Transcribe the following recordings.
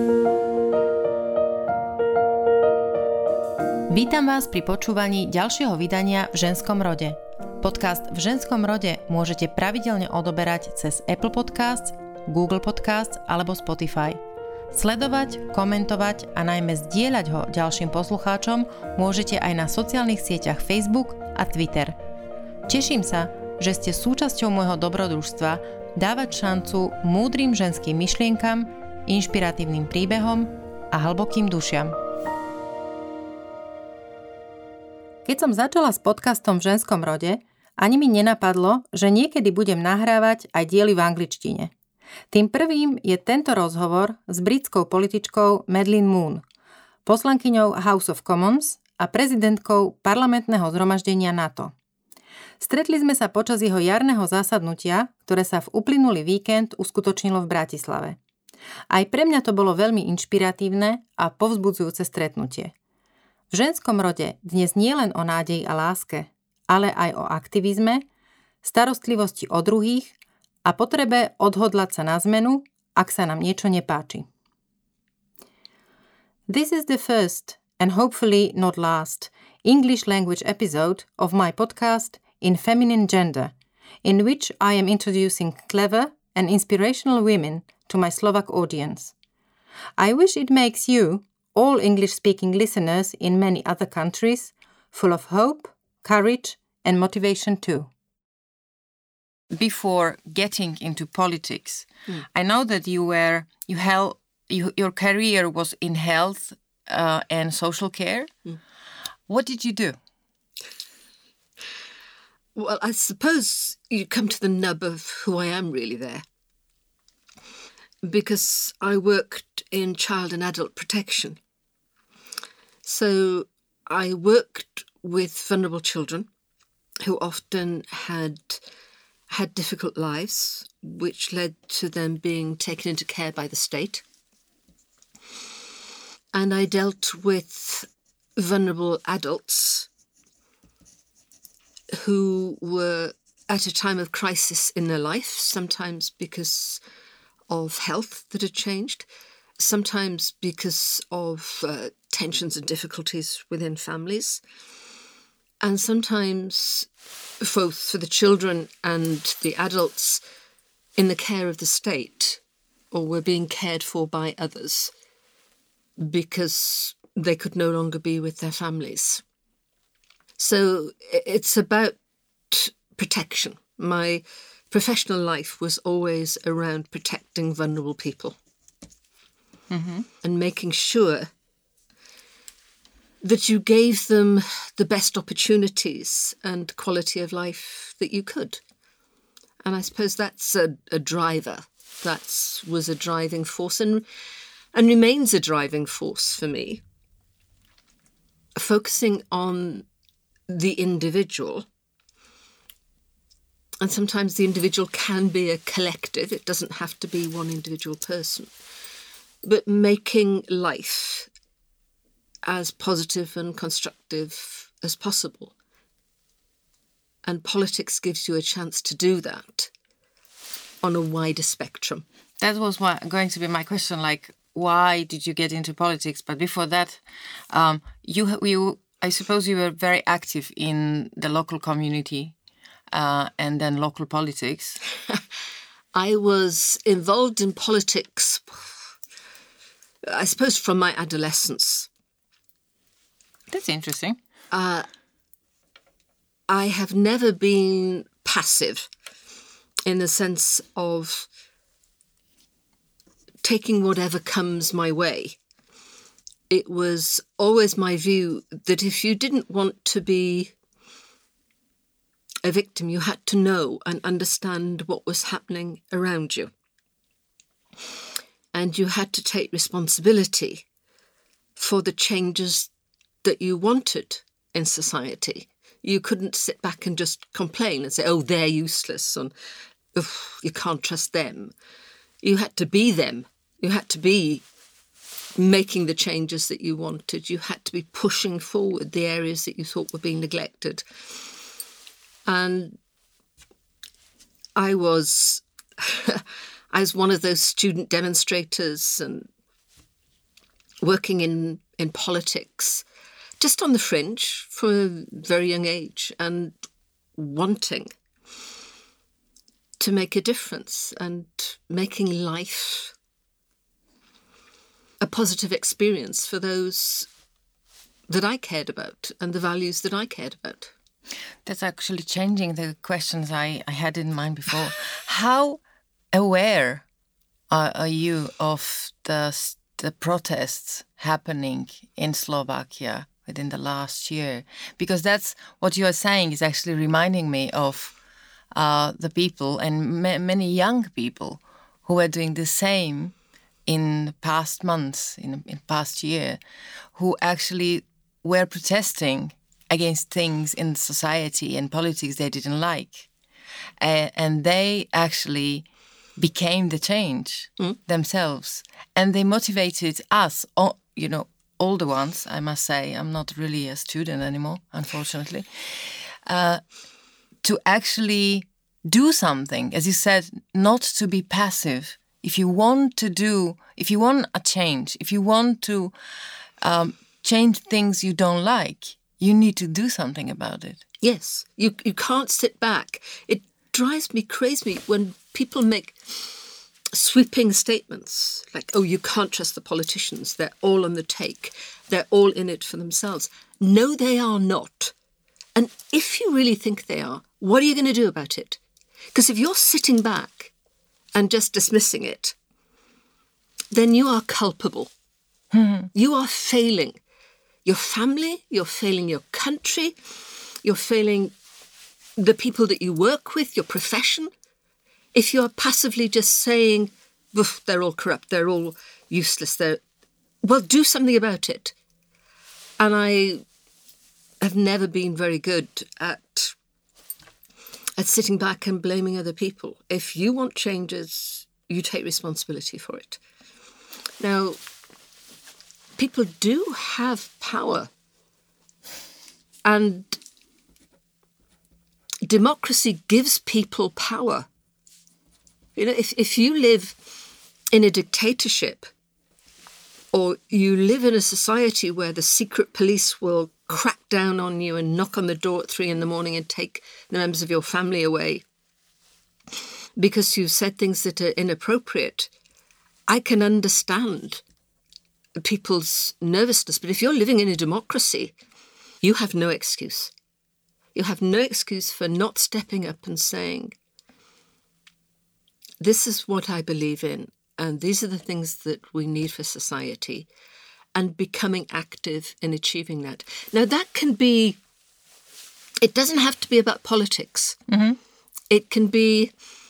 Vítam vás pri počúvaní ďalšieho vydania V ženskom rode. Podcast V ženskom rode môžete pravidelne odoberať cez Apple Podcasts, Google Podcasts alebo Spotify. Sledovať, komentovať a najmä zdieľať ho ďalším poslucháčom môžete aj na sociálnych sieťach Facebook a Twitter. Teším sa, že ste súčasťou môjho dobrodružstva dávať šancu múdrym ženským myšlienkam, inšpiratívnym príbehom a hlbokým dušiam. Keď som začala s podcastom V ženskom rode, ani mi nenapadlo, že niekedy budem nahrávať aj diely v angličtine. Tým prvým je tento rozhovor s britskou političkou Madeleine Moon, poslankyňou House of Commons a prezidentkou parlamentného zhromaždenia NATO. Stretli sme sa počas jeho jarného zasadnutia, ktoré sa v uplynulý víkend uskutočnilo v Bratislave. Aj pre mňa to bolo veľmi inšpiratívne a povzbudzujúce stretnutie. V ženskom rode dnes nie len o nádeji a láske, ale aj o aktivizme, starostlivosti o druhých a potrebe odhodlať sa na zmenu, ak sa nám niečo nepáči. This is the first, and hopefully not last, English language episode of my podcast In Feminine Gender, in which I am introducing clever and inspirational women to my Slovak audience. I wish it makes you, all English-speaking listeners in many other countries, full of hope, courage and motivation too. Before getting into politics, I know that your career was in health and social care. What did you do? Well, I suppose you come to the nub of who I am really there. Because I worked in child and adult protection. So I worked with vulnerable children who often had difficult lives, which led to them being taken into care by the state. And I dealt with vulnerable adults who were at a time of crisis in their life, sometimes because of health that had changed, sometimes because of tensions and difficulties within families, and sometimes both for the children and the adults in the care of the state, or were being cared for by others because they could no longer be with their families. So it's about protection. My professional life was always around protecting vulnerable people and making sure that you gave them the best opportunities and quality of life that you could. And I suppose that's a driver. That was a driving force and remains a driving force for me. Focusing on the individual. And sometimes the individual can be a collective. It doesn't have to be one individual person. But making life as positive and constructive as possible. And politics gives you a chance to do that on a wider spectrum. That was going to be my question, like, why did you get into politics? But before that, you I suppose you were very active in the local community and then local politics. I was involved in politics, I suppose, from my adolescence. That's interesting. I have never been passive in the sense of taking whatever comes my way. It was always my view that if you didn't want to be a victim, you had to know and understand what was happening around you. And you had to take responsibility for the changes that you wanted in society. You couldn't sit back and just complain and say, oh, they're useless, and you can't trust them. You had to be them. You had to be making the changes that you wanted. You had to be pushing forward the areas that you thought were being neglected. And I was one of those student demonstrators and working in politics, just on the fringe from a very young age, and wanting to make a difference and making life a positive experience for those that I cared about and the values that I cared about. That's actually changing the questions I had in mind before. How aware are you of the protests happening in Slovakia within the last year? Because that's what you are saying is actually reminding me of the people and many young people who were doing the same in past months, in past year, who actually were protesting against things in society and politics they didn't like. And they actually became the change themselves. And they motivated us, older ones, I must say. I'm not really a student anymore, unfortunately. To actually do something, as you said, not to be passive. If you want a change, if you want to change things you don't like, you need to do something about it. Yes, you can't sit back. It drives me crazy when people make sweeping statements like, oh, you can't trust the politicians. They're all on the take. They're all in it for themselves. No, they are not. And if you really think they are, what are you going to do about it? Because if you're sitting back and just dismissing it, then you are culpable. You are failing your family, you're failing your country, you're failing the people that you work with, your profession. If you're passively just saying, they're all corrupt, they're all useless, well, do something about it. And I have never been very good at sitting back and blaming other people. If you want changes, you take responsibility for it. Now, people do have power, and democracy gives people power. You know, if you live in a dictatorship, or you live in a society where the secret police will crack down on you and knock on the door at 3 a.m. and take the members of your family away because you've said things that are inappropriate, I can understand people's nervousness. But if you're living in a democracy, you have no excuse. You have no excuse for not stepping up and saying, this is what I believe in, and these are the things that we need for society, and becoming active in achieving that. Now, that can be, it doesn't have to be about politics. Mm-hmm. It can be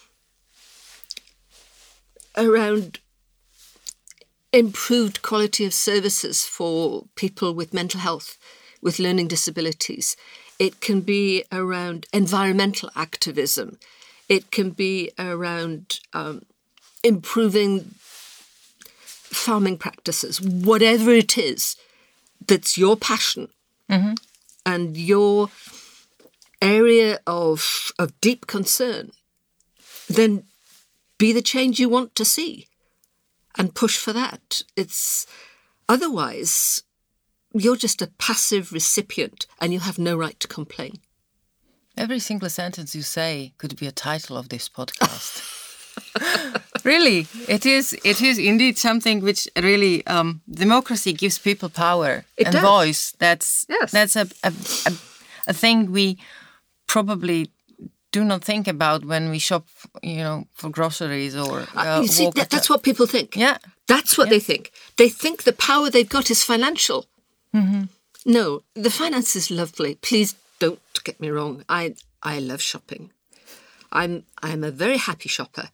around improved quality of services for people with mental health, with learning disabilities. It can be around environmental activism. It can be around improving farming practices, whatever it is that's your passion and your area of deep concern, then be the change you want to see and push for that. Otherwise, you're just a passive recipient and you have no right to complain. Every single sentence you say could be a title of this podcast. Really, it is indeed something which really democracy gives people power and voice. That's a thing we probably do not think about when we shop, for groceries or. You see, that's what people think. Yeah, that's what they think. They think the power they've got is financial. Mm-hmm. No, the finance is lovely. Please don't get me wrong. I love shopping. I'm a very happy shopper.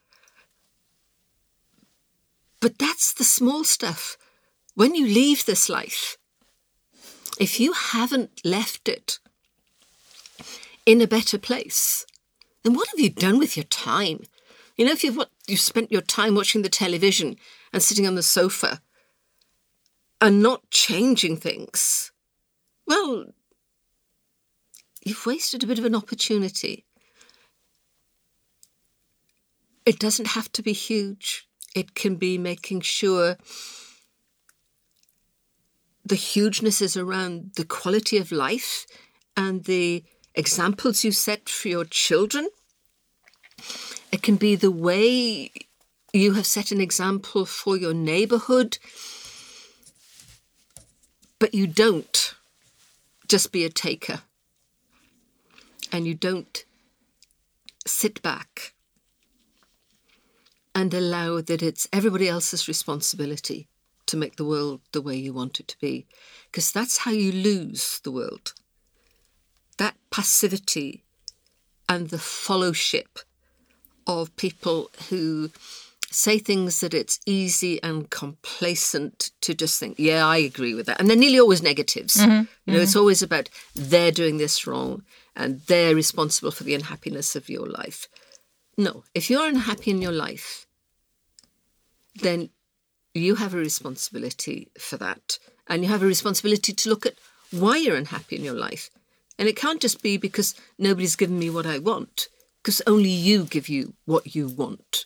But that's the small stuff. When you leave this life, if you haven't left it in a better place, then what have you done with your time? If you've spent your time watching the television and sitting on the sofa and not changing things, well, you've wasted a bit of an opportunity. It doesn't have to be huge. It can be making sure the hugeness is around the quality of life and the examples you set for your children. It can be the way you have set an example for your neighbourhood, but you don't just be a taker. And you don't sit back and allow that it's everybody else's responsibility to make the world the way you want it to be. Because that's how you lose the world. That passivity and the followship of people who say things that it's easy and complacent to just think, yeah, I agree with that. And they're nearly always negatives. It's always about they're doing this wrong and they're responsible for the unhappiness of your life. No, if you're unhappy in your life, then you have a responsibility for that. And you have a responsibility to look at why you're unhappy in your life. And it can't just be because nobody's given me what I want, because only you give you what you want.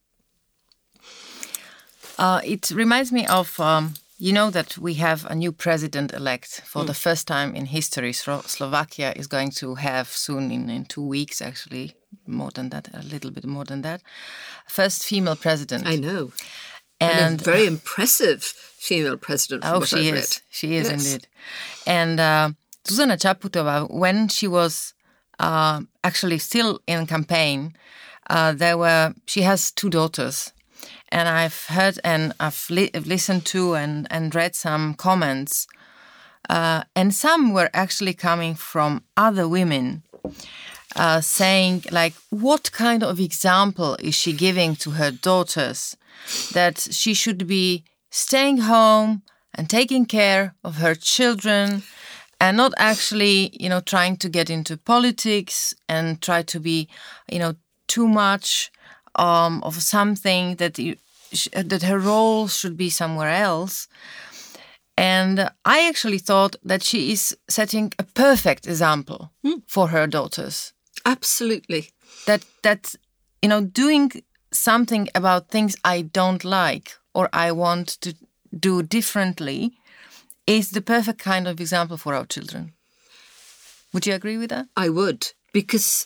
It reminds me of, that we have a new president-elect for the first time in history. Slovakia is going to have soon, in 2 weeks actually, more than that, a little bit more than that, first female president. I know. And a very impressive female president from what I've read. She is indeed. And Zuzana Čaputová, when she was actually still in campaign, she has 2 daughters. And I've heard and I've listened to and read some comments. And some were actually coming from other women saying, like, what kind of example is she giving to her daughters? That she should be staying home and taking care of her children and not actually, trying to get into politics and try to be, too much of something that her role should be somewhere else. And I actually thought that she is setting a perfect example for her daughters. Absolutely. That doing something about things I don't like or I want to do differently is the perfect kind of example for our children. Would you agree with that? I would, because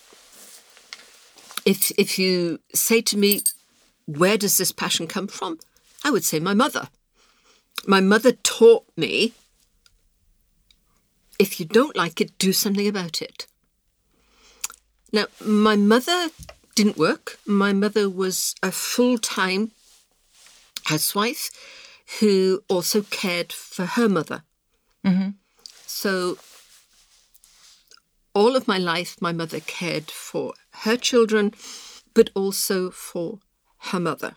if you say to me, where does this passion come from? I would say my mother. My mother taught me, if you don't like it, do something about it. Now, my mother didn't work. My mother was a full-time housewife who also cared for her mother. So all of my life, my mother cared for her children, but also for her mother.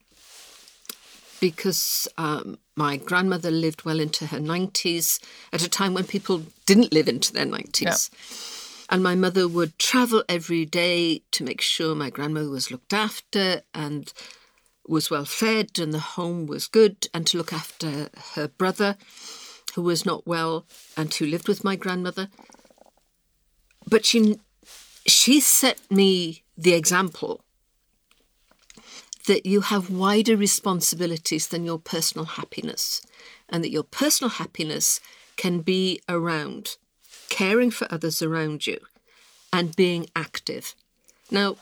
Because my grandmother lived well into her 90s, at a time when people didn't live into their 90s. Yeah. And my mother would travel every day to make sure my grandmother was looked after and was well fed and the home was good, and to look after her brother, who was not well and who lived with my grandmother. But she set me the example that you have wider responsibilities than your personal happiness, and that your personal happiness can be around caring for others around you and being active. Now,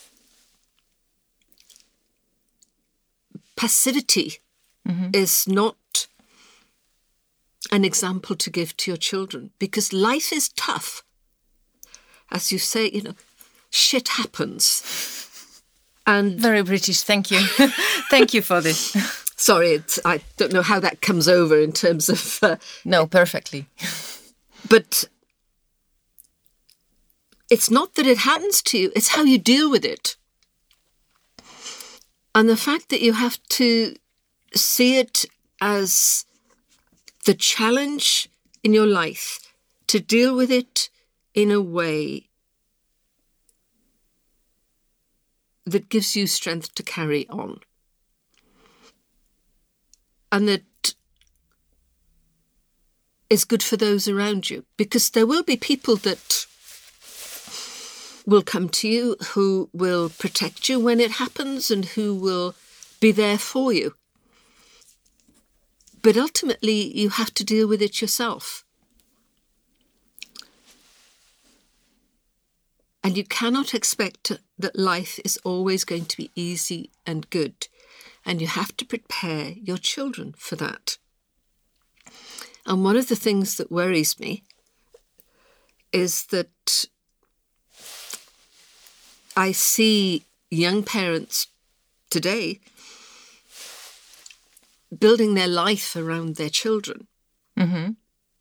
passivity is not an example to give to your children, because life is tough. As you say, shit happens. And very British, thank you. Thank you for this. Sorry, I don't know how that comes over in terms of... No, perfectly. But it's not that it happens to you, it's how you deal with it. And the fact that you have to see it as the challenge in your life to deal with it in a way that gives you strength to carry on. And that is good for those around you, because there will be people that will come to you who will protect you when it happens and who will be there for you. But ultimately, you have to deal with it yourself. And you cannot expect that life is always going to be easy and good. And you have to prepare your children for that. And one of the things that worries me is that I see young parents today building their life around their children and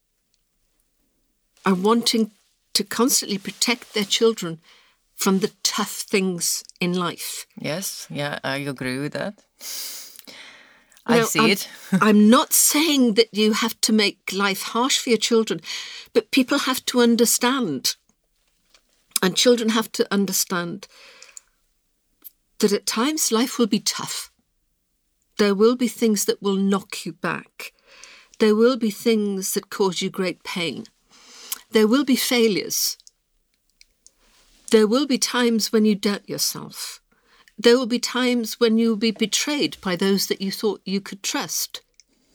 wanting to constantly protect their children from the tough things in life. Yes, yeah, I agree with that. Now, I see it. I'm not saying that you have to make life harsh for your children, but people have to understand, and children have to understand that at times life will be tough. There will be things that will knock you back. There will be things that cause you great pain. There will be failures. There will be times when you doubt yourself. There will be times when you will be betrayed by those that you thought you could trust.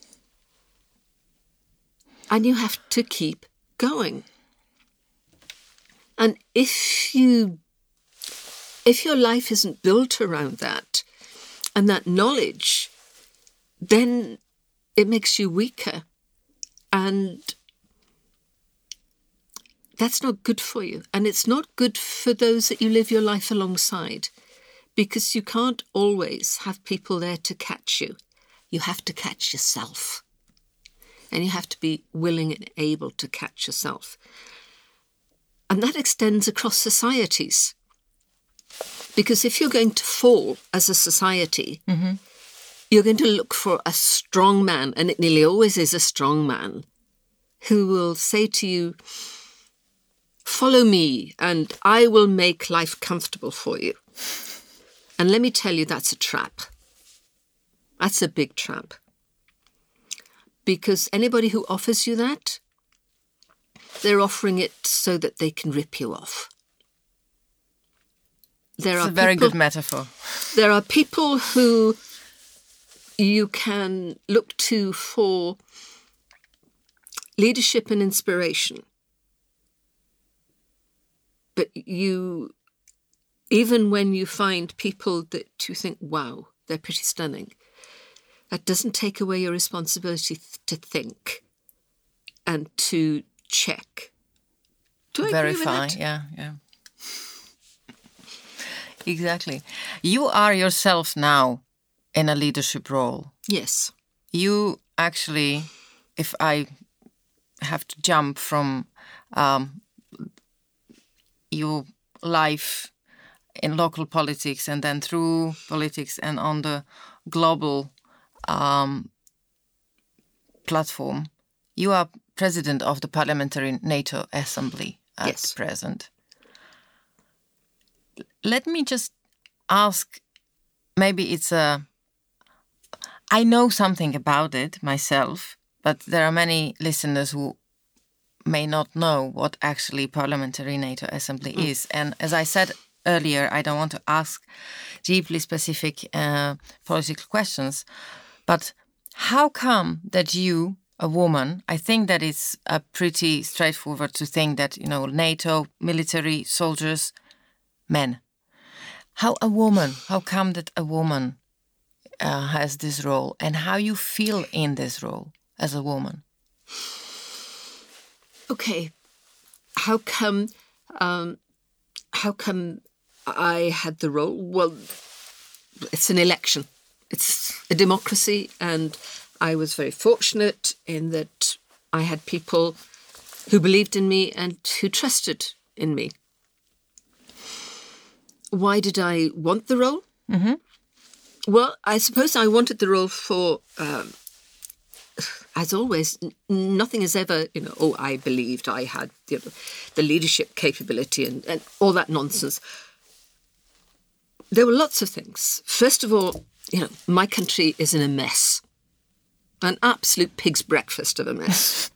And you have to keep going. And if your life isn't built around that and that knowledge, then it makes you weaker. And that's not good for you. And it's not good for those that you live your life alongside, because you can't always have people there to catch you. You have to catch yourself. And you have to be willing and able to catch yourself. And that extends across societies. Because if you're going to fall as a society, you're going to look for a strong man, and it nearly always is a strong man, who will say to you, follow me and I will make life comfortable for you. And let me tell you, that's a trap. That's a big trap. Because anybody who offers you that, they're offering it so that they can rip you off. It's a very good metaphor. There are people who you can look to for leadership and inspiration. But even when you find people that you think, wow, they're pretty stunning, that doesn't take away your responsibility to think and to check. Do I agree with that? Yeah. Exactly. You are yourself now in a leadership role. Yes. You actually, if I have to jump from your life in local politics and then through politics and on the global platform, you are president of the Parliamentary NATO Assembly at present. Let me just ask, maybe I know something about it myself, but there are many listeners who may not know what actually Parliamentary NATO Assembly is. And as I said earlier, I don't want to ask deeply specific political questions, but how come that you, a woman, I think that it's pretty straightforward to think that, NATO, military, soldiers, men. How come that a woman has this role, and how you feel in this role as a woman? Okay, how come I had the role? Well, it's an election. It's a democracy, and I was very fortunate in that I had people who believed in me and who trusted in me. Why did I want the role? Mm-hmm. Well, I suppose I wanted the role for, as always, nothing is ever, I believed I had the leadership capability and all that nonsense. There were lots of things. First of all, my country is in a mess. An absolute pig's breakfast of a mess.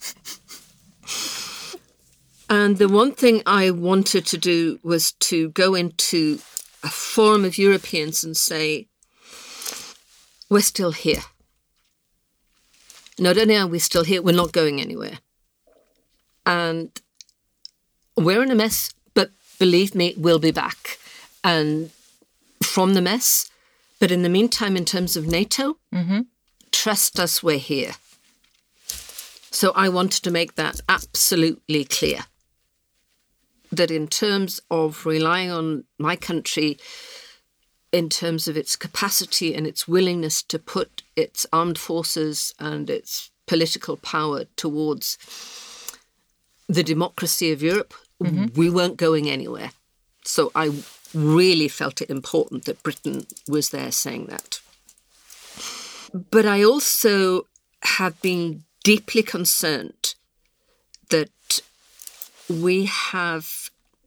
And the one thing I wanted to do was to go into a forum of Europeans and say, we're still here. not only are we still here, we're not going anywhere. And we're in a mess, but believe me, we'll be back. And from the mess, but in the meantime, in terms of NATO, trust us, we're here. So I wanted to make that absolutely clear, that in terms of relying on my country, in terms of its capacity and its willingness to put its armed forces and its political power towards the democracy of Europe, we weren't going anywhere. So I really felt it important that Britain was there saying that. But I also have been deeply concerned that we have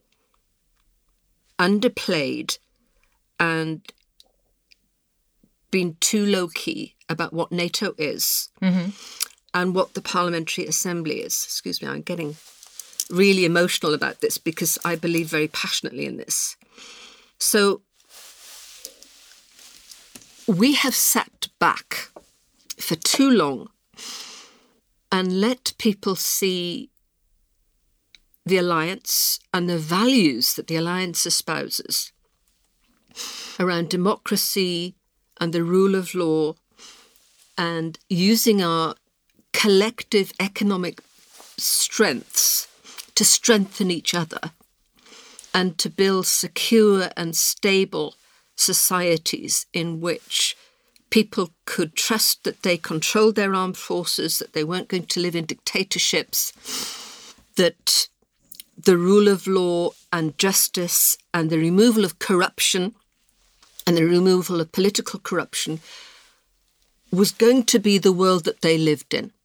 underplayed and been too low-key about what NATO is and what the Parliamentary Assembly is. Excuse me, I'm getting really emotional about this because I believe very passionately in this. So we have sat back for too long and let people see the alliance and the values that the alliance espouses around democracy and the rule of law and using our collective economic strengths to strengthen each other and to build secure and stable societies in which people could trust that they controlled their armed forces, that they weren't going to live in dictatorships, that the rule of law and justice and the removal of corruption and the removal of political corruption was going to be the world that they lived in.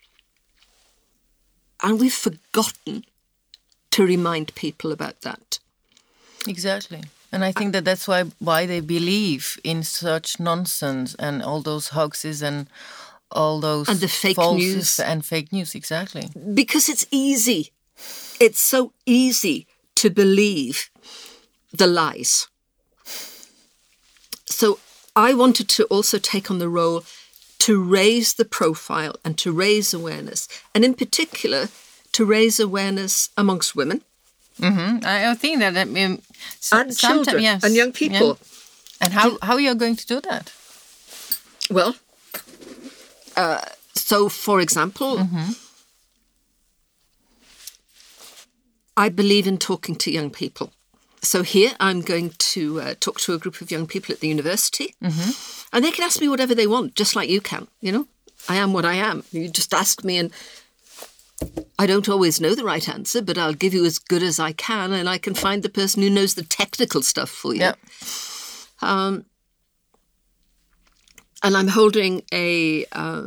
And we've forgotten to remind people about that. Exactly. And I think that that's why they believe in such nonsense and all those hoaxes and all those and the fake news and fake news. Exactly. Because it's easy. It's so easy to believe the lies. So I wanted to also take on the role to raise the profile and to raise awareness, and in particular to raise awareness amongst women. I think that and children and young people. Yeah. And how you're going to do that? Well, so for example, I believe in talking to young people. So here I'm going to talk to a group of young people at the university, and they can ask me whatever they want, just like you can, you know. I am what I am. You just ask me and I don't always know the right answer, but I'll give you as good as I can, and I can find the person who knows the technical stuff for you. Yeah. And I'm holding a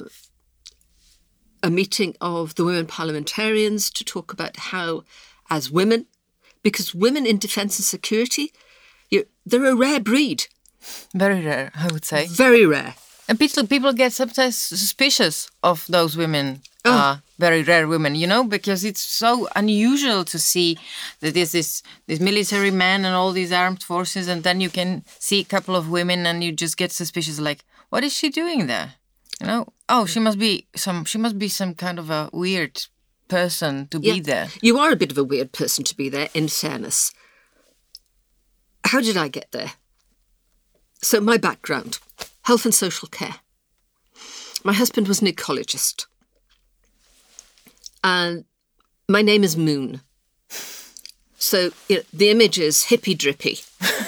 meeting of the women parliamentarians to talk about how, as women, because women in defence and security, they're a rare breed. Very rare, I would say. Very rare. And people get sometimes suspicious of those women, very rare women, you know, because it's so unusual to see that there's this military man and all these armed forces, and then you can see a couple of women and you just get suspicious, like, what is she doing there? You know, oh, she must be some kind of a weird person to be there. You are a bit of a weird person to be there, in fairness. How did I get there? So my background, health and social care. My husband was an ecologist. And my name is Moon. So the image is hippy-drippy.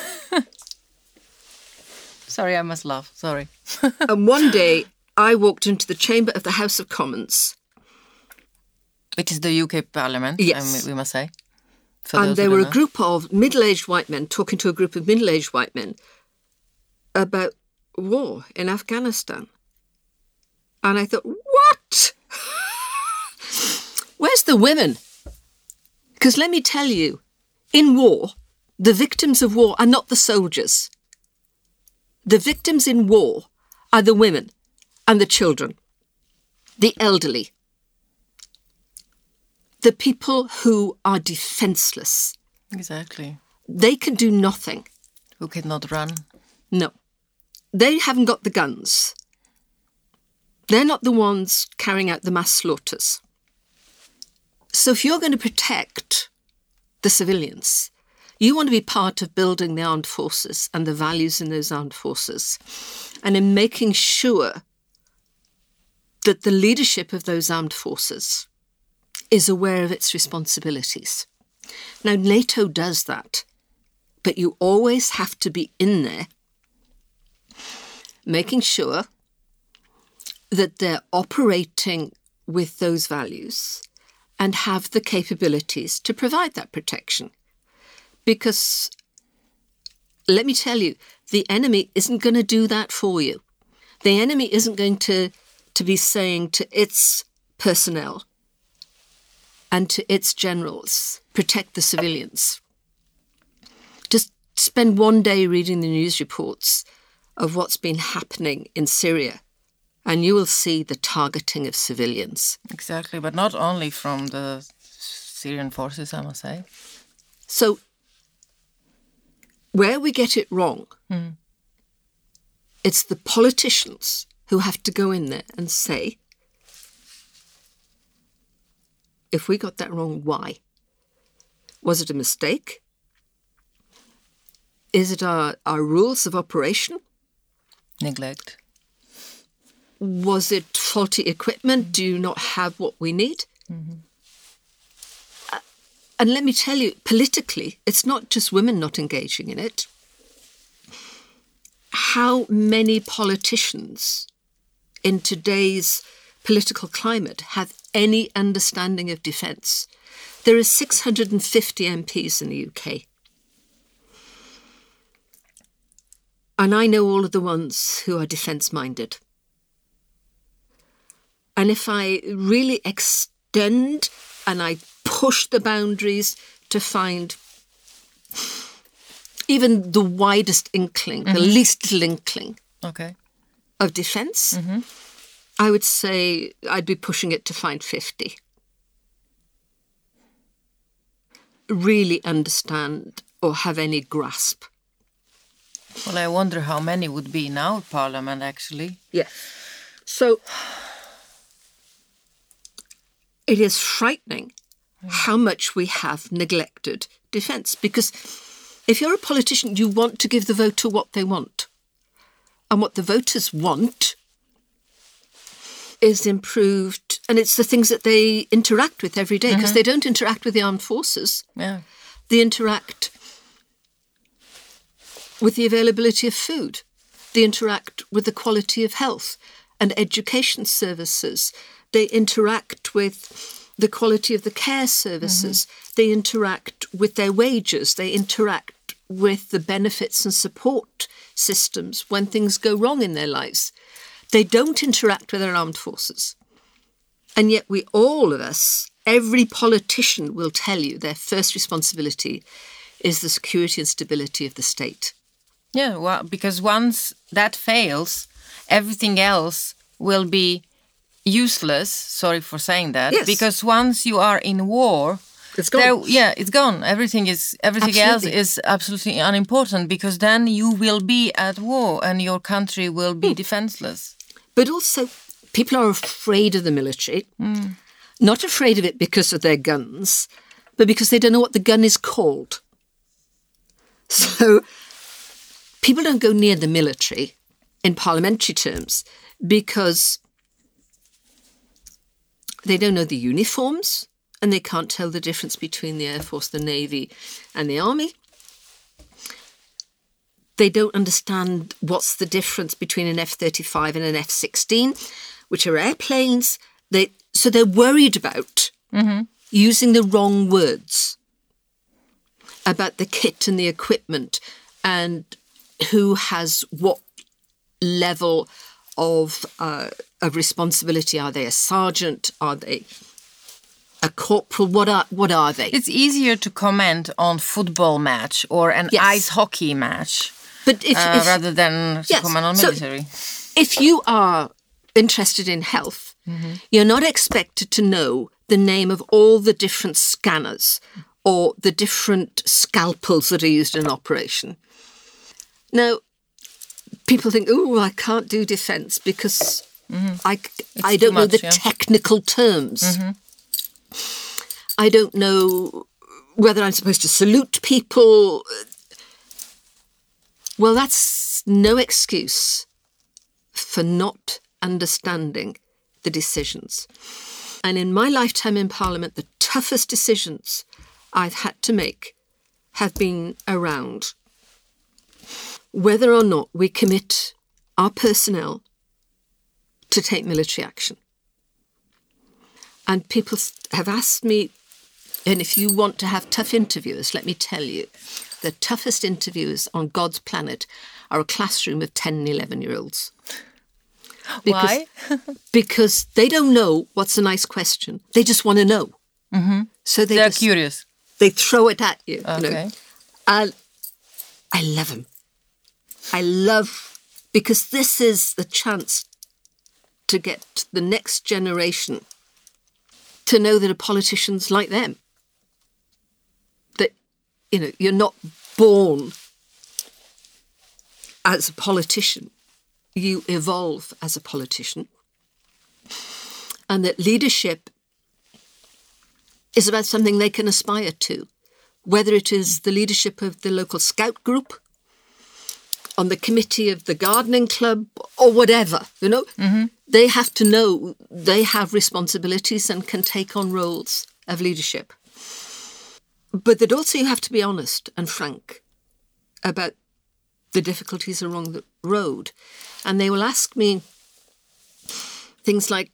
Sorry, I must laugh. Sorry. And one day I walked into the chamber of the House of Commons. Which is the UK Parliament, yes. We must say. And there were a group of middle-aged white men talking to a group of middle-aged white men about war in Afghanistan. And I thought, what? Where's the women? Because let me tell you, in war, the victims of war are not the soldiers. The victims in war are the women and the children, the elderly, the people who are defenceless. Exactly. They can do nothing. Who cannot run. No. They haven't got the guns. They're not the ones carrying out the mass slaughters. So if you're going to protect the civilians, you want to be part of building the armed forces and the values in those armed forces, and in making sure that the leadership of those armed forces is aware of its responsibilities. Now, NATO does that, but you always have to be in there making sure that they're operating with those values and have the capabilities to provide that protection. Because, let me tell you, the enemy isn't going to do that for you. The enemy isn't going to be saying to its personnel and to its generals, protect the civilians. Just spend one day reading the news reports of what's been happening in Syria, and you will see the targeting of civilians. Exactly, but not only from the Syrian forces, I must say. So, where we get it wrong, it's the politicians who have to go in there and say, if we got that wrong, why? Was it a mistake? Is it our rules of operation? Neglect. Was it faulty equipment? Do you not have what we need? And let me tell you, politically, it's not just women not engaging in it. How many politicians in today's political climate have any understanding of defence? There are 650 MPs in the UK. And I know all of the ones who are defence-minded. And if I really extend and I push the boundaries to find even the widest inkling, the least little inkling of defence, I would say I'd be pushing it to find 50. Really understand or have any grasp. Well, I wonder how many would be in our parliament, actually. Yeah. So it is frightening how much we have neglected defence. Because if you're a politician, you want to give the voter what they want. And what the voters want is improved, and it's the things that they interact with every day, because they don't interact with the armed forces. Yeah. They interact with the availability of food. They interact with the quality of health and education services. They interact with the quality of the care services. They interact with their wages. They interact with the benefits and support systems when things go wrong in their lives. They don't interact with our armed forces. And yet all of us, every politician will tell you their first responsibility is the security and stability of the state. Yeah, well, because once that fails, everything else will be useless. Sorry for saying that. Yes. Because once you are in war, it's gone. It's gone. Everything else is absolutely unimportant, because then you will be at war and your country will be defenseless. But also, people are afraid of the military. Not afraid of it because of their guns, but because they don't know what the gun is called. So people don't go near the military in parliamentary terms because they don't know the uniforms and they can't tell the difference between the Air Force, the Navy and the Army. They don't understand what's the difference between an F-35 and an F-16, which are airplanes. So they're worried about using the wrong words about the kit and the equipment and who has what level of responsibility. Are they a sergeant? Are they a corporal? What are they? It's easier to comment on football match or an ice hockey match, but if rather than to comment on military. So if you are interested in health, you're not expected to know the name of all the different scanners or the different scalpels that are used in an operation. Now, people think, I can't do defence because I don't know the technical terms. I don't know whether I'm supposed to salute people. Well, that's no excuse for not understanding the decisions. And in my lifetime in Parliament, the toughest decisions I've had to make have been around whether or not we commit our personnel to take military action. And people have asked me, and if you want to have tough interviewers, let me tell you, the toughest interviewers on God's planet are a classroom of 10 and 11-year-olds. Why? Because they don't know what's a nice question. They just want to know. So they're curious. They throw it at you. Okay. You know? And I love them. Because this is the chance to get the next generation to know that a politician's like them. That, you know, you're not born as a politician. You evolve as a politician. And that leadership is about something they can aspire to, whether it is the leadership of the local scout group, on the committee of the gardening club, or whatever, you know. They have to know they have responsibilities and can take on roles of leadership. But that also you have to be honest and frank about the difficulties along the road. And they will ask me things like,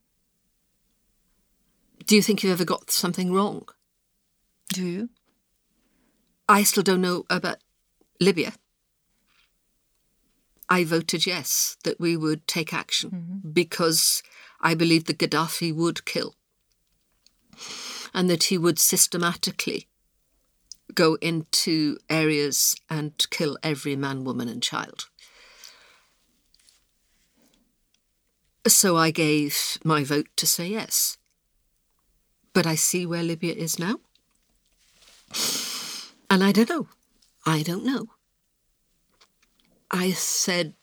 do you think you've ever got something wrong? Do you? I still don't know about Libya. I voted yes, that we would take action because I believed that Gaddafi would kill and that he would systematically go into areas and kill every man, woman and child. So I gave my vote to say yes. But I see where Libya is now. And I don't know. I said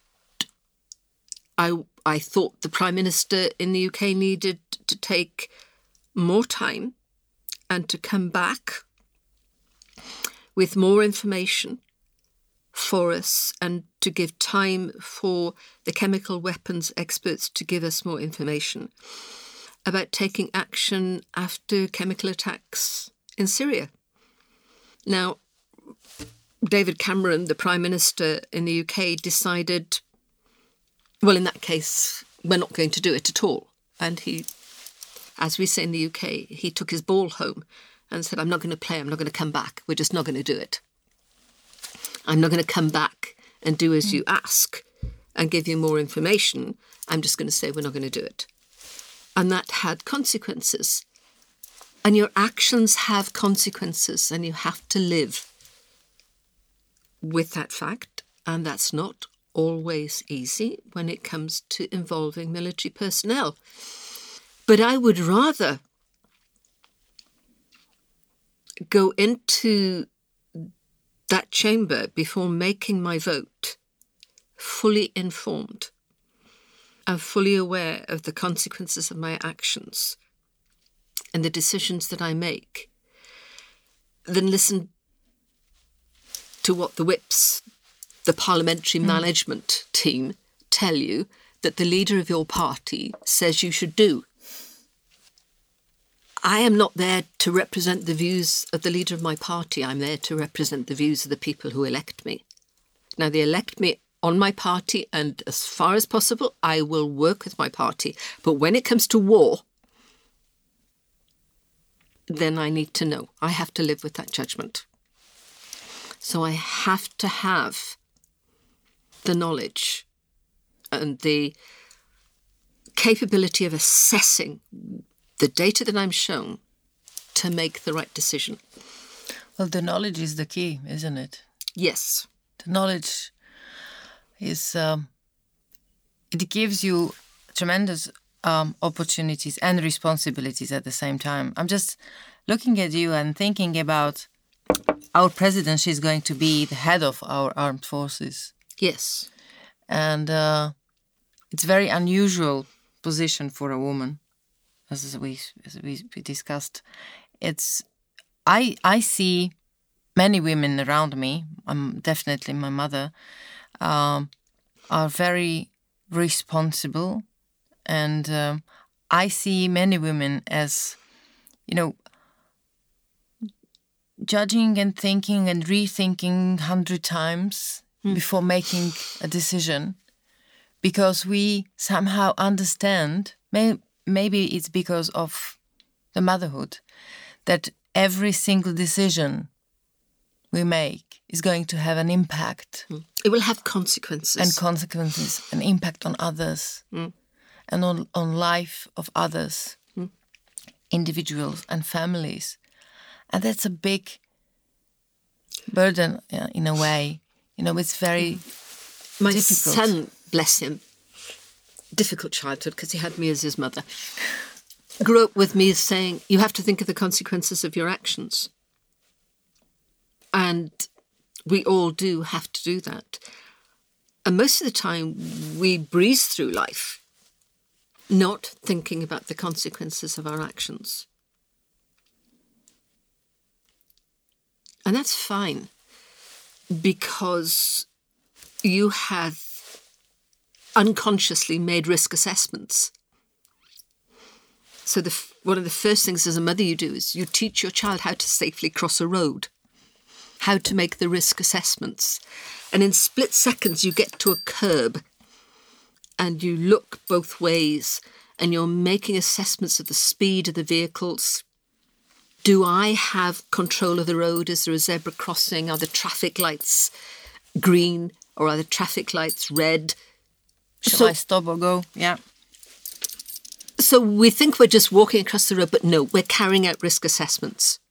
I thought the Prime Minister in the UK needed to take more time and to come back with more information for us and to give time for the chemical weapons experts to give us more information about taking action after chemical attacks in Syria. Now, David Cameron, the Prime Minister in the UK, decided, well, in that case, we're not going to do it at all. And he, as we say in the UK, he took his ball home and said, I'm not going to play, I'm not going to come back. We're just not going to do it. I'm not going to come back and do as you ask and give you more information. I'm just going to say we're not going to do it. And that had consequences. And your actions have consequences and you have to live with that fact, and that's not always easy when it comes to involving military personnel. But I would rather go into that chamber before making my vote fully informed and fully aware of the consequences of my actions and the decisions that I make than listen to what the whips, the parliamentary management team, tell you that the leader of your party says you should do. I am not there to represent the views of the leader of my party. I'm there to represent the views of the people who elect me. Now, they elect me on my party, and as far as possible, I will work with my party. But when it comes to war, then I need to know. I have to live with that judgment. So I have to have the knowledge and the capability of assessing the data that I'm shown to make the right decision. Well, the knowledge is the key, isn't it? Yes. The knowledge is, it gives you tremendous opportunities and responsibilities at the same time. I'm just looking at you and thinking about our president. She's going to be the head of our armed forces. Yes. And it's very unusual position for a woman, as we discussed. I see many women around me. Definitely my mother are very responsible, and I see many women as, judging and thinking and rethinking 100 times before making a decision, because we somehow understand, maybe it's because of the motherhood, that every single decision we make is going to have an impact. It will have consequences. An impact on others, and on life of others, individuals and families. And that's a big burden in a way. It's very My difficult. son, bless him, difficult childhood because he had me as his mother, grew up with me saying, you have to think of the consequences of your actions. And we all do have to do that. And most of the time we breeze through life not thinking about the consequences of our actions. And that's fine, because you have unconsciously made risk assessments. So one of the first things as a mother you do is you teach your child how to safely cross a road, how to make the risk assessments. And in split seconds you get to a curb and you look both ways and you're making assessments of the speed of the vehicles. Do I have control of the road? Is there a zebra crossing? Are the traffic lights green or are the traffic lights red? Shall I stop or go? Yeah. So we think we're just walking across the road, but no, we're carrying out risk assessments.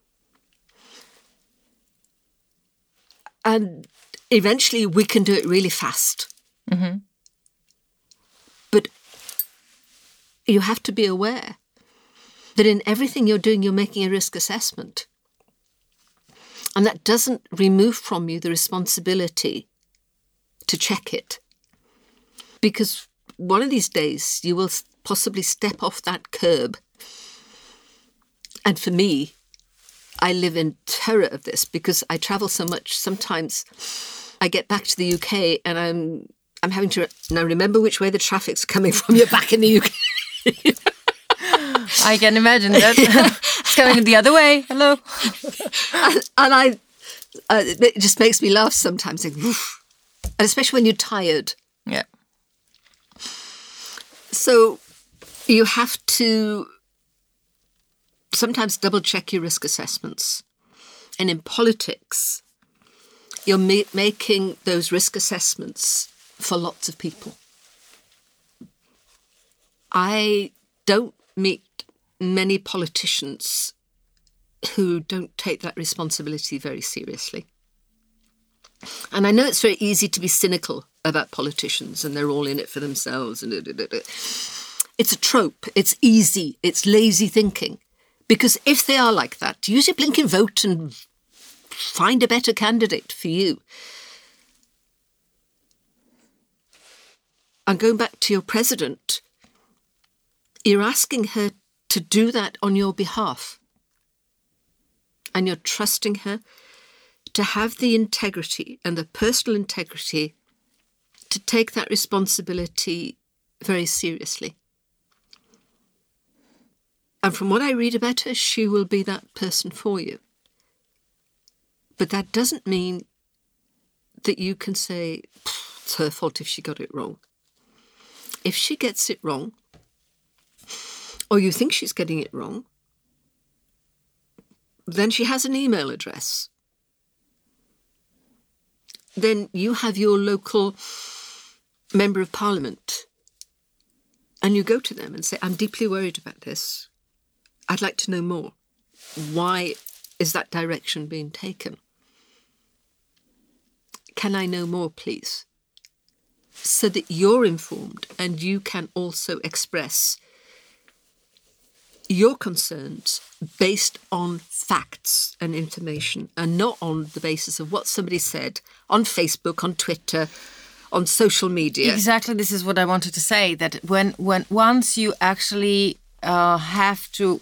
And eventually we can do it really fast. Mm-hmm. But you have to be aware that in everything you're doing, you're making a risk assessment. And that doesn't remove from you the responsibility to check it. Because one of these days you will possibly step off that curb. And for me, I live in terror of this because I travel so much. Sometimes I get back to the UK and I'm having to now remember which way the traffic's coming from. You're back in the UK. I can imagine that. It's coming the other way. Hello. And it just makes me laugh sometimes. Like, and especially when you're tired. Yeah. So you have to sometimes double check your risk assessments. And in politics, you're making those risk assessments for lots of people. I don't meet many politicians who don't take that responsibility very seriously. And I know it's very easy to be cynical about politicians and they're all in it for themselves. And it's a trope. It's easy. It's lazy thinking. Because if they are like that, use your blinking vote and find a better candidate for you. And going back to your president, you're asking her to do that on your behalf. And you're trusting her to have the integrity and the personal integrity to take that responsibility very seriously. And from what I read about her, she will be that person for you. But that doesn't mean that you can say, it's her fault if she got it wrong. If she gets it wrong, or you think she's getting it wrong, then she has an email address. Then you have your local member of parliament and you go to them and say, I'm deeply worried about this. I'd like to know more. Why is that direction being taken? Can I know more, please? So that you're informed and you can also express your concerns based on facts and information and not on the basis of what somebody said on Facebook, on Twitter, on social media. Exactly, this is what I wanted to say, that when once you actually have to,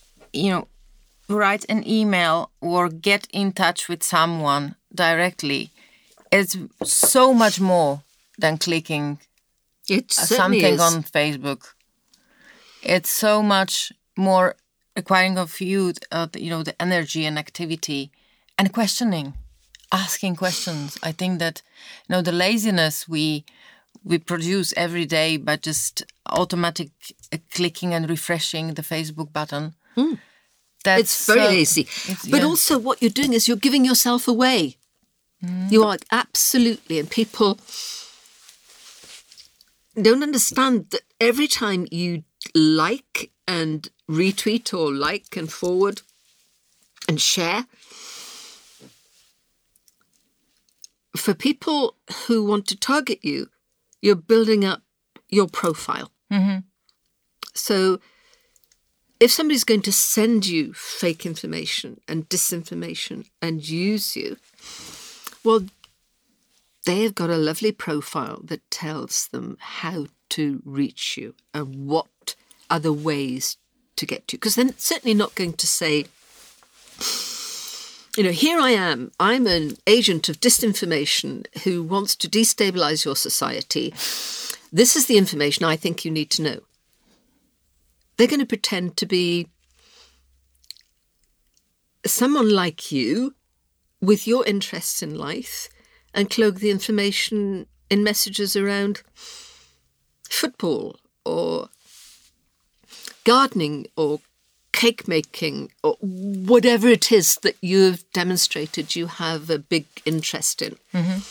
write an email or get in touch with someone directly, it's so much more than clicking It certainly something is. on Facebook. It's so much more requiring of you, the energy and activity and questioning, asking questions. I think that, the laziness we produce every day by just automatic clicking and refreshing the Facebook button. It's very lazy. But yeah. also what you're doing is you're giving yourself away. You are absolutely, and people don't understand that every time you like and retweet or like and forward and share, for people who want to target you, you're building up your profile. So if somebody's going to send you fake information and disinformation and use you, well, they have got a lovely profile that tells them how to reach you and what are the ways to get to you. Because they're certainly not going to say, here I am. I'm an agent of disinformation who wants to destabilize your society. This is the information I think you need to know. They're going to pretend to be someone like you with your interests in life and cloak the information in messages around football or gardening or cake making or whatever it is that you've demonstrated you have a big interest in.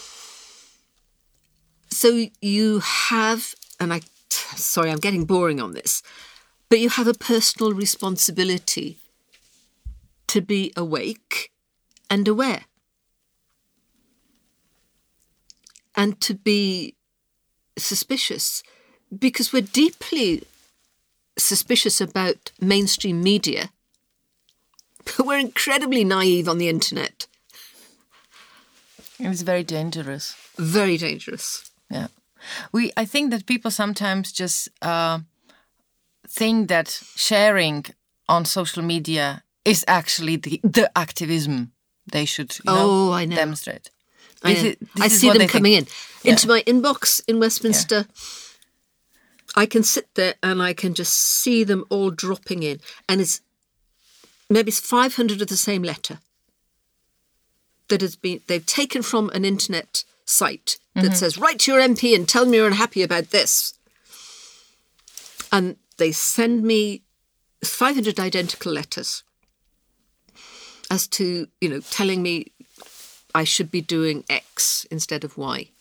So you have, and sorry, I'm getting boring on this, but you have a personal responsibility to be awake and aware. And to be suspicious, because we're deeply suspicious about mainstream media, but we're incredibly naive on the internet. It's very dangerous. Very dangerous. Yeah. I think that people sometimes just think that sharing on social media is actually the activism they should I know. demonstrate. I see them coming into my inbox in Westminster. Yeah. I can sit there and I can just see them all dropping in. And it's 500 of the same letter that they've taken from an internet site that says, write to your MP and tell me you're unhappy about this. And they send me 500 identical letters as to, telling me I should be doing X instead of Y.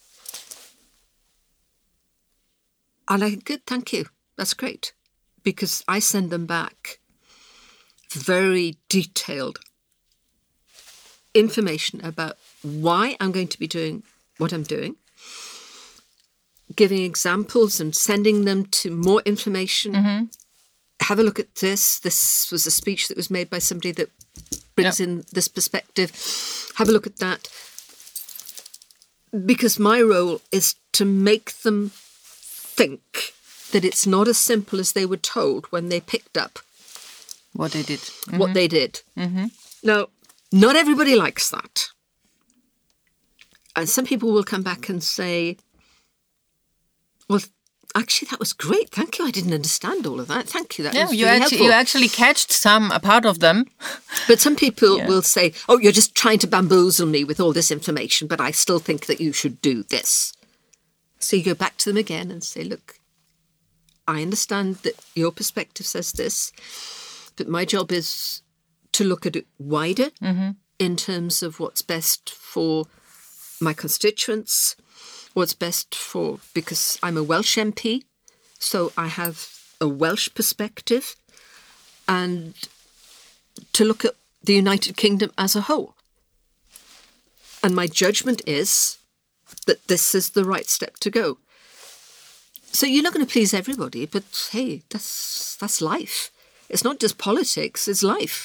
And I think, good, thank you. That's great. Because I send them back very detailed information about why I'm going to be doing what I'm doing, giving examples and sending them to more information. Have a look at this. This was a speech that was made by somebody that brings in this perspective. Have a look at that. Because my role is to make them think that it's not as simple as they were told when they picked up what they did. What they did. Now, not everybody likes that. And some people will come back and say, well, actually, that was great. Thank you. I didn't understand all of that. Thank you. That was really helpful. You actually catched a part of them. But some people will say, oh, you're just trying to bamboozle me with all this information, but I still think that you should do this. So you go back to them again and say, look, I understand that your perspective says this, but my job is to look at it wider in terms of what's best for my constituents, what's best for, because I'm a Welsh MP, so I have a Welsh perspective, and to look at the United Kingdom as a whole. And my judgment is that this is the right step to go. So you're not going to please everybody, but hey, that's life. It's not just politics, it's life.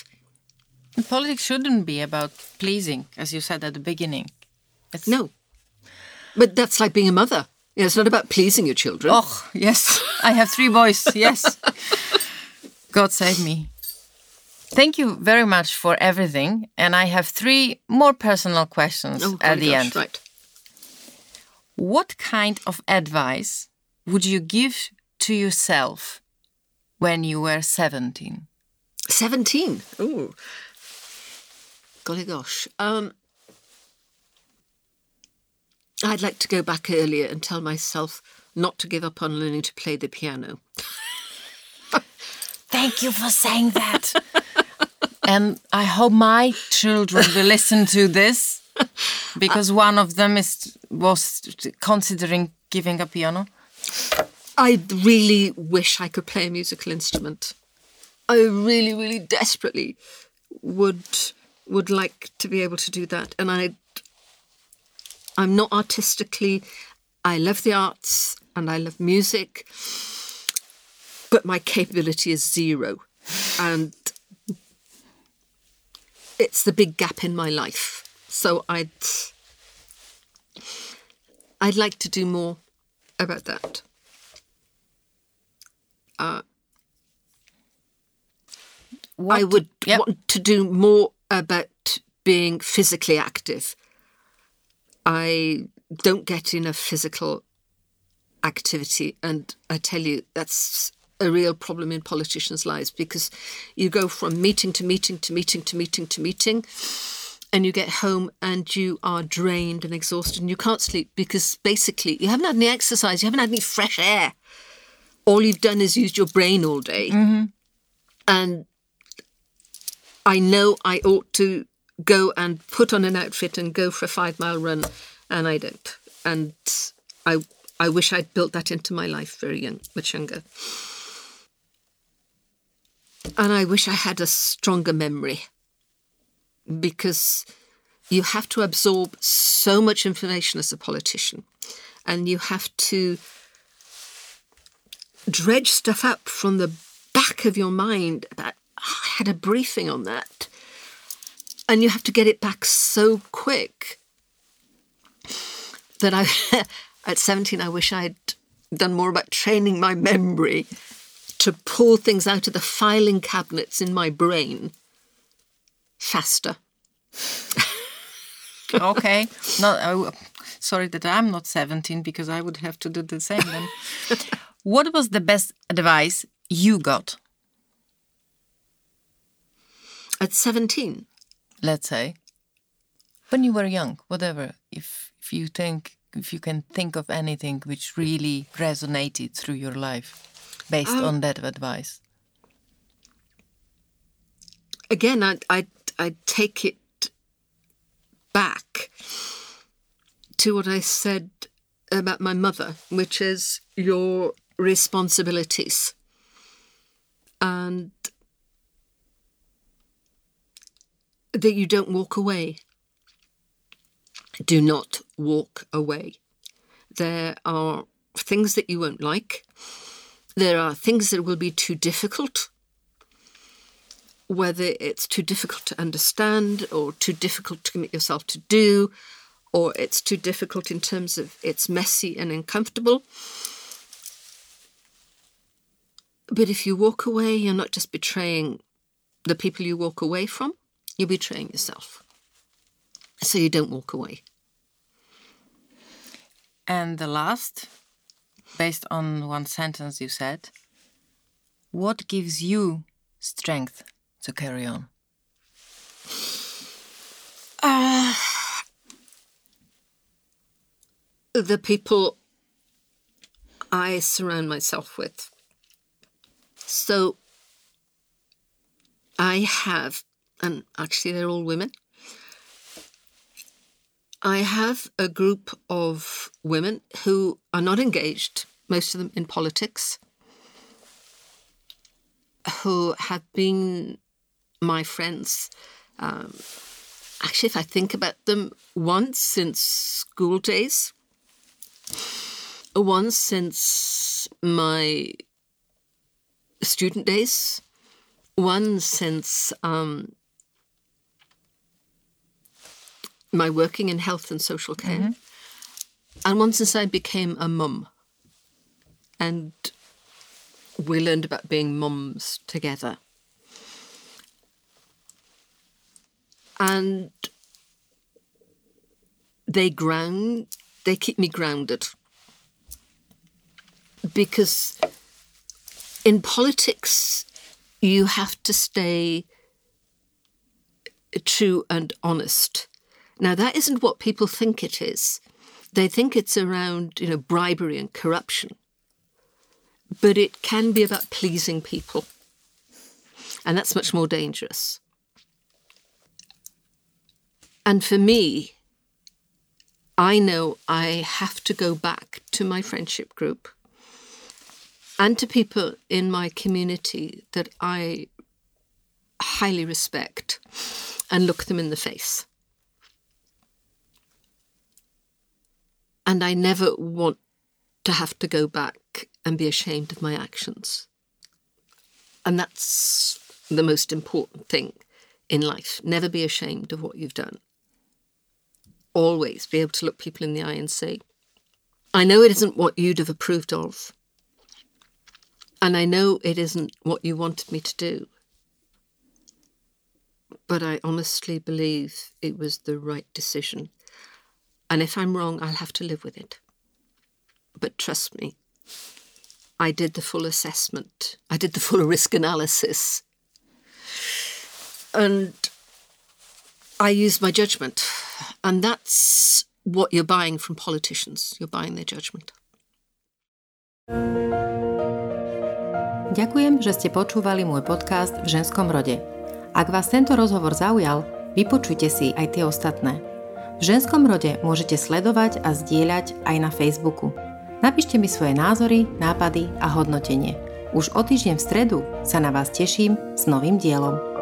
Politics shouldn't be about pleasing, as you said at the beginning. No. But that's like being a mother. It's not about pleasing your children. Oh, yes. I have 3 boys, yes. God save me. Thank you very much for everything. And I have 3 more personal questions at the end. Right. What kind of advice would you give to yourself when you were 17? 17? Ooh. Golly gosh. I'd like to go back earlier and tell myself not to give up on learning to play the piano. Thank you for saying that. And I hope my children will listen to this, because one of them was considering giving a piano. I really wish I could play a musical instrument. I really, really desperately would like to be able to do that. And I'm not artistically... I love the arts and I love music, but my capability is 0. And it's the big gap in my life. So I'd like to do more about that. I would want to do more about being physically active. I don't get enough physical activity, and I tell you, that's a real problem in politicians' lives, because you go from meeting to meeting to meeting to meeting to meeting, and you get home and you are drained and exhausted and you can't sleep because basically you haven't had any exercise, you haven't had any fresh air. All you've done is used your brain all day. Mm-hmm. And I know I ought to go and put on an outfit and go for a 5-mile run, and I don't. And I wish I'd built that into my life much younger. And I wish I had a stronger memory, because you have to absorb so much information as a politician, and you have to dredge stuff up from the back of your mind about, I had a briefing on that, and you have to get it back so quick that at 17, I wish I'd done more about training my memory to pull things out of the filing cabinets in my brain faster. Okay. Sorry that I'm not 17, because I would have to do the same then. What was the best advice you got? At 17? Let's say. When you were young, whatever. If you can think of anything which really resonated through your life based on that advice. Again, I take it back to what I said about my mother, which is your responsibilities. And that you don't walk away. Do not walk away. There are things that you won't like. There are things that will be too difficult, whether it's too difficult to understand or too difficult to commit yourself to do, or it's too difficult in terms of it's messy and uncomfortable. But if you walk away, you're not just betraying the people you walk away from, you're betraying yourself. So you don't walk away. And the last, based on one sentence you said, what gives you strength to carry on? The people I surround myself with. So I have, and actually they're all women, I have a group of women who are not engaged, most of them in politics, who have been my friends. Actually, if I think about them, once since school days, once since my student days, one since my working in health and social care. Mm-hmm. And once I became a mum, and we learned about being mums together. And they keep me grounded. Because in politics, you have to stay true and honest. Now, that isn't what people think it is. They think it's around, bribery and corruption. But it can be about pleasing people. And that's much more dangerous. And for me, I know I have to go back to my friendship group and to people in my community that I highly respect and look them in the face. And I never want to have to go back and be ashamed of my actions. And that's the most important thing in life. Never be ashamed of what you've done. Always be able to look people in the eye and say, I know it isn't what you'd have approved of. And I know it isn't what you wanted me to do. But I honestly believe it was the right decision. And if I'm wrong, I'll have to live with it. But trust me, I did the full assessment. I did the full risk analysis. And I used my judgment. And that's what you're buying from politicians. You're buying their judgment. Ďakujem, že ste počúvali môj podcast V ženskom rode. Ak vás tento rozhovor zaujal, vypočujte si aj tie ostatné. V ženskom rode môžete sledovať a zdieľať aj na Facebooku. Napíšte mi svoje názory, nápady a hodnotenie. Už o týždeň v stredu sa na vás teším s novým dielom.